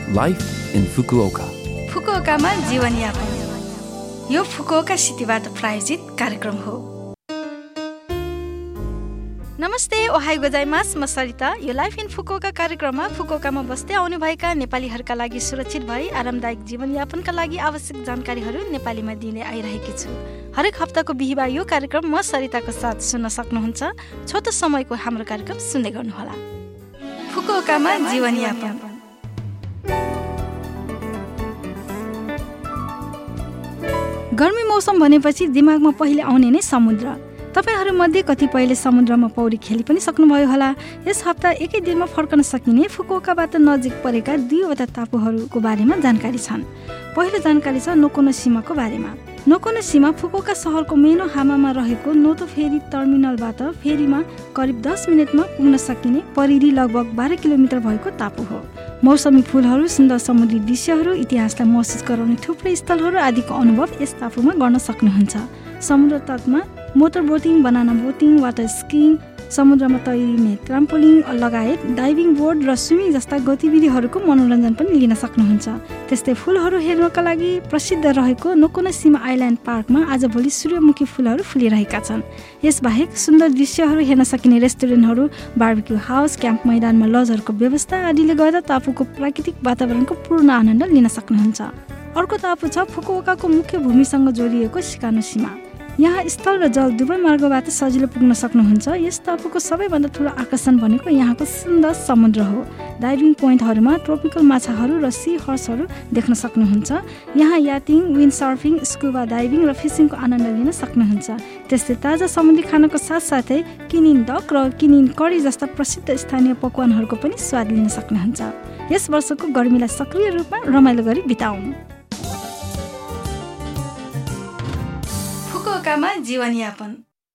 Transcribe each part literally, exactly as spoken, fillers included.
Life in Fukuoka. फुकुओकामा जीवनयापन यो Fukuoka सिटीबाट प्रायोजित कार्यक्रम हो। नमस्ते, ओहाई गोजाइमास, म सरिता। यो लाइफ इन फुकुओका कार्यक्रममा फुकुओकामा बस्दै आउनुभएका नेपालीहरूका लागि सुरक्षित भई आरामदायक जीवनयापनका लागि आवश्यक जानकारीहरू नेपालीमा दिने आइरहेकी छु। हरेक हप्ताको बिहिबार यो कार्यक्रम म सरिताको साथ सुन्न सक्नुहुन्छ। छोटो समयको हाम्रो कार्यक्रम सुन्दै गर्नुहोला। फुकुओकामा जीवनयापन। गर्मी मौसम भनेपछि दिमागमा पहिले आउने नै समुद्र। तपाईहरूमध्ये कतिपयले समुद्रमा पौडी खेली पनि सक्नुभयो होला। यस हप्ता एकै दिनमा फर्कन सकिने फुकुओकाबाट नजिक परेका दुईवटा टापुहरूको बारेमा जानकारी छन्। पहिलो जानकारी छ नोकोनोसिमाको बारेमा। नोकोनोसिमा फुकुओका सहरको मेनोहामामा रहेको नोतो फेरी टर्मिनलबाट फेरीमा करिब दस मिनटमा पुग्न सकिने परिधि लगभग बाह्र किलोमिटर भएको टापु हो। मौसमी फुलहरू, सुन्दर समुद्री दृश्यहरू, इतिहासलाई महसुस गराउने थुप्रै स्थलहरू आदिको अनुभव यस टापुमा गर्न सक्नुहुन्छ। समुद्र तटमा motor boating, banana boating, water skiing, समुद्रमा तैरिने ट्राम्पोलिङ लगायत डाइभिङ बोर्ड र स्विमिङ जस्ता गतिविधिहरूको मनोरञ्जन पनि लिन सक्नुहुन्छ। त्यस्तै फुलहरू हेर्नका लागि प्रसिद्ध रहेको नोकोनोसिमा आइल्यान्ड पार्कमा आजभोलि सूर्यमुखी फुलहरू फुलिरहेका छन्। यसबाहेक सुन्दर दृश्यहरू हेर्न सकिने रेस्टुरेन्टहरू, बार्बिक्यू हाउस, क्याम्प मैदानमा लजहरूको व्यवस्था आदिले गर्दा टापुको प्राकृतिक वातावरणको पूर्ण आनन्द लिन सक्नुहुन्छ। अर्को टापु छ फुकुओकाको मुख्य भूमिसँग जोडिएको सिकानोसिमा। यहाँ स्थल र जल दुवै मार्गबाट सजिलो पुग्न सक्नुहुन्छ। यस टापुको सबैभन्दा ठुलो आकर्षण भनेको यहाँको सुन्दर समुद्र हो। डाइभिङ पोइन्टहरूमा ट्रोपिकल माछाहरू र सी हर्सहरू देख्न सक्नुहुन्छ। यहाँ याटिङ, विन्ड सर्फिङ, स्कुबा डाइभिङ र फिसिङको आनन्द लिन सक्नुहुन्छ। त्यस्तै ताजा समुद्री खानाको साथसाथै किनिन डक र किनिन करी जस्ता प्रसिद्ध स्थानीय पकवानहरूको पनि स्वाद लिन सक्नुहुन्छ। यस वर्षको गर्मीलाई सक्रिय रूपमा रमाइलो गरी बिताउनु। फुकुओकामा जीवनयापन।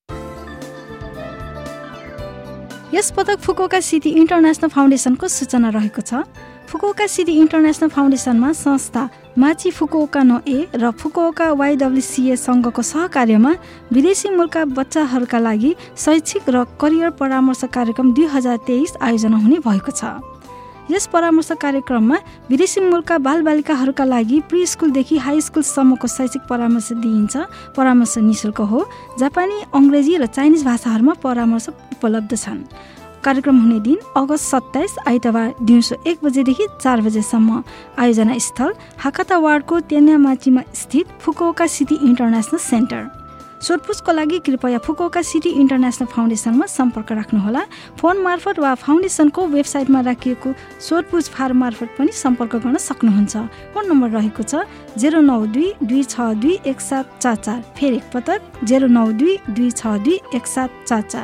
यस पटक फुकुओका सिटी इन्टरनेसनल फाउन्डेसनको सूचना रहेको छ। फुकुओका सिटी इन्टरनेसनल फाउन्डेसनमा संस्था माची फुकुओका नो ए र फुकुओका वाइडब्ल्युसिए सङ्घको सहकार्यमा विदेशी मूलका बच्चाहरूका लागि शैक्षिक र करियर परामर्श कार्यक्रम दुई हजार तेइस आयोजना हुने भएको छ। यस परामर्श कार्यक्रममा विदेशी मूलका बालबालिकाहरूका लागि प्री स्कुलदेखि हाई स्कुलसम्मको शैक्षिक परामर्श दिइन्छ। परामर्श निःशुल्क हो। जापानी, अङ्ग्रेजी र चाइनिज भाषाहरूमा परामर्श उपलब्ध छन्। कार्यक्रम हुने दिन अगस्त सत्ताइस आइतबार दिउँसो एक बजेदेखि चार बजेसम्म। आयोजना स्थल हाकाता वार्डको तेन्यामाचीमा स्थित फुकुओका सिटी इन्टरनेसनल सेन्टर। सोधपुछको लागि कृपया फुकुओका सिटी इन्टरनेसनल फाउन्डेसनमा सम्पर्क राख्नुहोला। फोन मार्फत वा फाउन्डेसनको वेबसाइटमा राखिएको सोधपुछ फार्म मार्फत पनि सम्पर्क गर्न सक्नुहुन्छ। फोन नम्बर रहेको छ जेरो नौ दुई दुई छ दुई एक सात चार चार। फेरि एकपटक जेरो नौ दुई दुई छ दुई एक सात चार चार।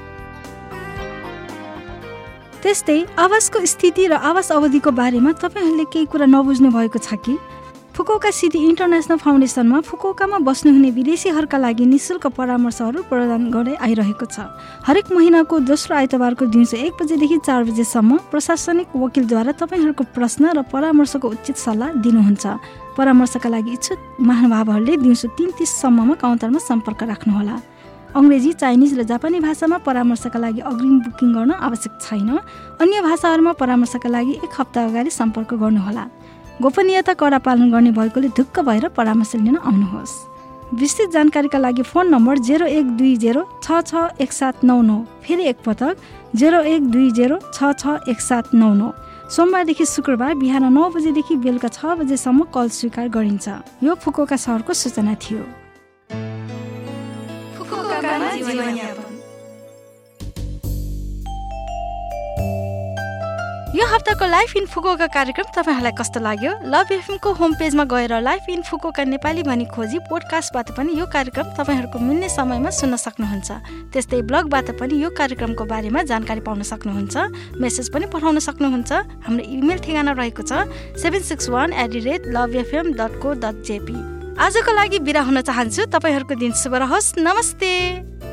त्यस्तै आवासको स्थिति र आवास अवधिको बारेमा तपाईँहरूले केही कुरा नबुझ्नु भएको छ कि? फुकुओका सिटी इन्टरनेसनल फाउन्डेसनमा फुकुओकामा बस्नुहुने विदेशीहरूका लागि निःशुल्क परामर्शहरू प्रदान गर्दै आइरहेको छ। हरेक महिनाको दोस्रो आइतबारको दिउँसो एक बजेदेखि चार बजेसम्म प्रशासनिक वकिलद्वारा तपाईँहरूको प्रश्न र परामर्शको उचित सल्लाह दिनुहुन्छ। परामर्शका लागि इच्छुक महानुभावहरूले दिउँसो तिन तिससम्ममा काउन्टरमा सम्पर्क राख्नुहोला। अङ्ग्रेजी, चाइनिज र जापानी भाषामा परामर्शका लागि अग्रिम बुकिङ गर्न आवश्यक छैन। अन्य भाषाहरूमा परामर्शका लागि एक हप्ता अगाडि सम्पर्क गर्नुहोला। गोपनीयता कडा पालन गर्ने भएकोले ढुक्क भएर परामर्श लिन आउनुहोस्। विस्तृत जानकारीका लागि फोन नम्बर जेरो एक दुई जेरो छ छ एक सात नौ नौ। फेरि एकपटक जेरो एक दुई जेरो छ छ एक सात नौ नौ। सोमबारदेखि शुक्रबार बिहान नौ बजेदेखि बेलुका छ बजेसम्म कल स्वीकार गरिन्छ। यो फुकुओका सहरको सूचना थियो। फुकुओकामा जीवनयापन। यो हप्ताको लाइफ इन फुकुओका कार्यक्रम तपाईँहरूलाई कस्तो लाग्यो? लभ एफएमको होम पेजमा गएर लाइफ इन फुकुओका नेपाली भनी खोजी पोडकास्टबाट पनि यो कार्यक्रम तपाईँहरूको मिल्ने समयमा सुन्न सक्नुहुन्छ। त्यस्तै ब्लगबाट पनि यो कार्यक्रमको बारेमा जानकारी पाउन सक्नुहुन्छ। मेसेज पनि पठाउन सक्नुहुन्छ। हाम्रो इमेल ठेगाना रहेको छ seven six one at the rate love FM dot को डट जेपी। आजको लागि बिदा हुन चाहन्छु। तपाईँहरूको दिन शुभ रहोस्। नमस्ते।